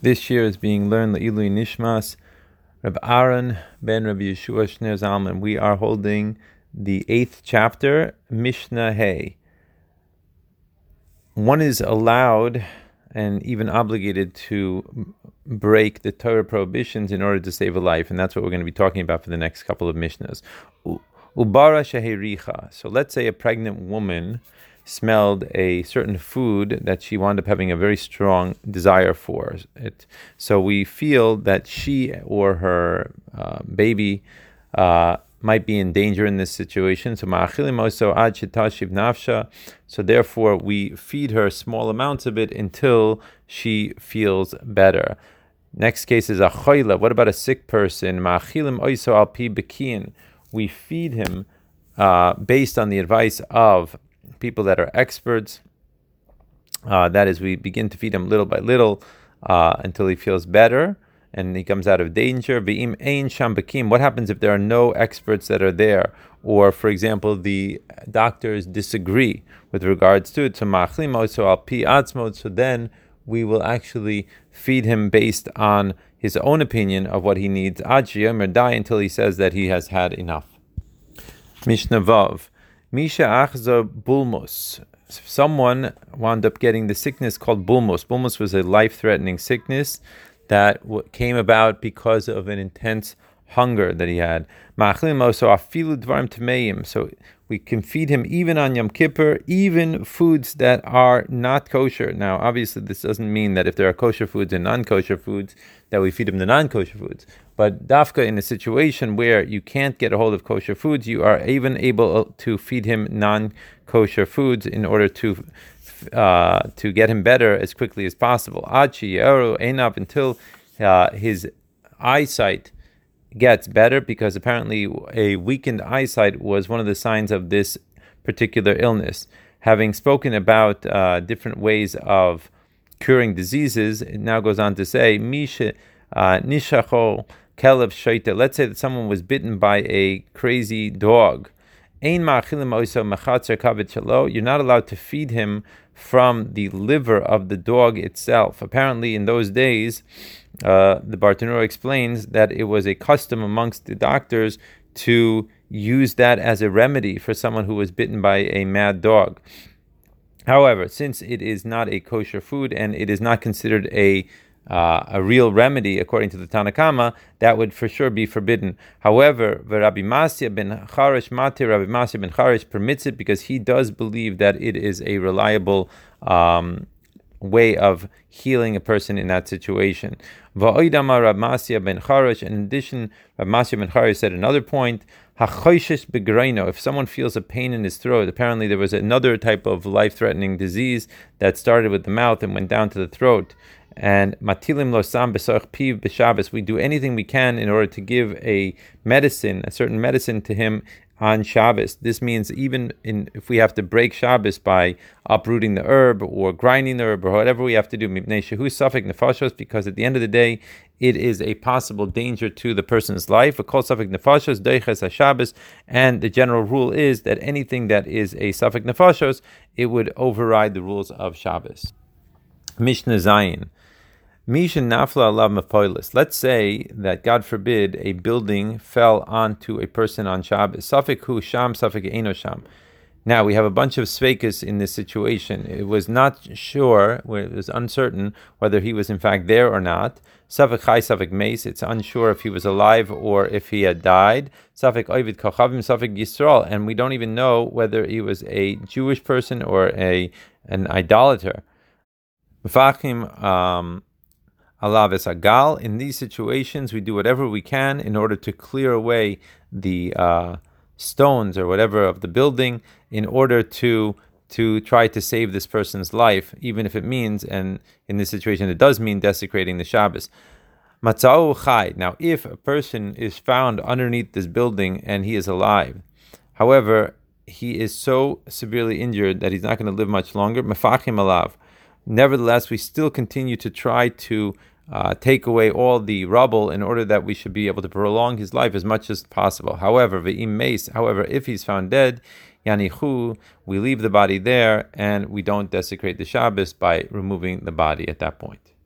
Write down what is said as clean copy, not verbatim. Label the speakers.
Speaker 1: This year is being learned Le'ilui Nishmas Reb Aaron ben Rabbi Yeshua Shner Zalman. We are holding the 8th chapter, Mishnah Hay. One is allowed and even obligated to break the Torah prohibitions in order to save a life, and that's what we're going to be talking about for the next couple of Mishnahs. Ubara shehericha. So let's say a pregnant woman smelled a certain food that she wound up having a very strong desire for it. So we feel that she or her baby might be in danger in this situation. So so therefore we feed her small amounts of it until she feels better. Next case is a choila. What about a sick person? We feed him based on the advice of people that are experts. That is, we begin to feed him little by little until he feels better and he comes out of danger. What happens if there are no experts that are there? Or, for example, the doctors disagree with regards to it. So then we will actually feed him based on his own opinion of what he needs. Until he says that he has had enough. Mishnah Vav. Misha achza bulmos. Someone wound up getting the sickness called bulmos. Bulmos was a life-threatening sickness that came about because of an intense hunger that he had. So we can feed him even on Yom Kippur, even foods that are not kosher. Now, obviously, this doesn't mean that if there are kosher foods and non-kosher foods, that we feed him the non-kosher foods. But dafka, in a situation where you can't get a hold of kosher foods, you are even able to feed him non-kosher foods in order to get him better as quickly as possible. Until his eyesight gets better, because apparently a weakened eyesight was one of the signs of this particular illness. Having spoken about different ways of curing diseases, it now goes on to say, Misha nishacho kelev shaita. Let's say that someone was bitten by a crazy dog. You're not allowed to feed him from the liver of the dog itself. Apparently, in those days, the Bartanura explains that it was a custom amongst the doctors to use that as a remedy for someone who was bitten by a mad dog. However, since it is not a kosher food and it is not considered a real remedy according to the Tanna Kama, that would for sure be forbidden. However, Rabbi Masya ben Charish permits it because he does believe that it is a reliable way of healing a person in that situation. In addition, Rabbi Masya ben Charish said another point, if someone feels a pain in his throat, apparently there was another type of life-threatening disease that started with the mouth and went down to the throat. And matilim losam b'sarch piv b'Shabbos, we do anything we can in order to give a certain medicine to him on Shabbos. This means even if we have to break Shabbos by uprooting the herb or grinding the herb or whatever we have to do, mipnei shehu safek nefashos, because at the end of the day, it is a possible danger to the person's life. A kol safek nefashos deiches haShabbos, and the general rule is that anything that is a safek nefashos, it would override the rules of Shabbos. Mishnah Zayin. Misha nafla alav mapoilis. Let's say that, God forbid, a building fell onto a person on Shabbos. Safek hu sham, safek eino sham. Now, we have a bunch of sveikas in this situation. It was not sure, it was uncertain whether he was in fact there or not. Safek chai, safek meis. It's unsure if he was alive or if he had died. Safek oivid kochavim, safek yisrael. And we don't even know whether he was a Jewish person or an idolater. Mefachim alav es agal. In these situations, we do whatever we can in order to clear away the stones or whatever of the building in order to try to save this person's life, even if it means, and in this situation it does mean, desecrating the Shabbos. Matzau chai. Now, if a person is found underneath this building and he is alive, however, he is so severely injured that he's not going to live much longer, mefachim alav. Nevertheless, we still continue to try to take away all the rubble in order that we should be able to prolong his life as much as possible. However, if he's found dead, yanichu, we leave the body there and we don't desecrate the Shabbos by removing the body at that point.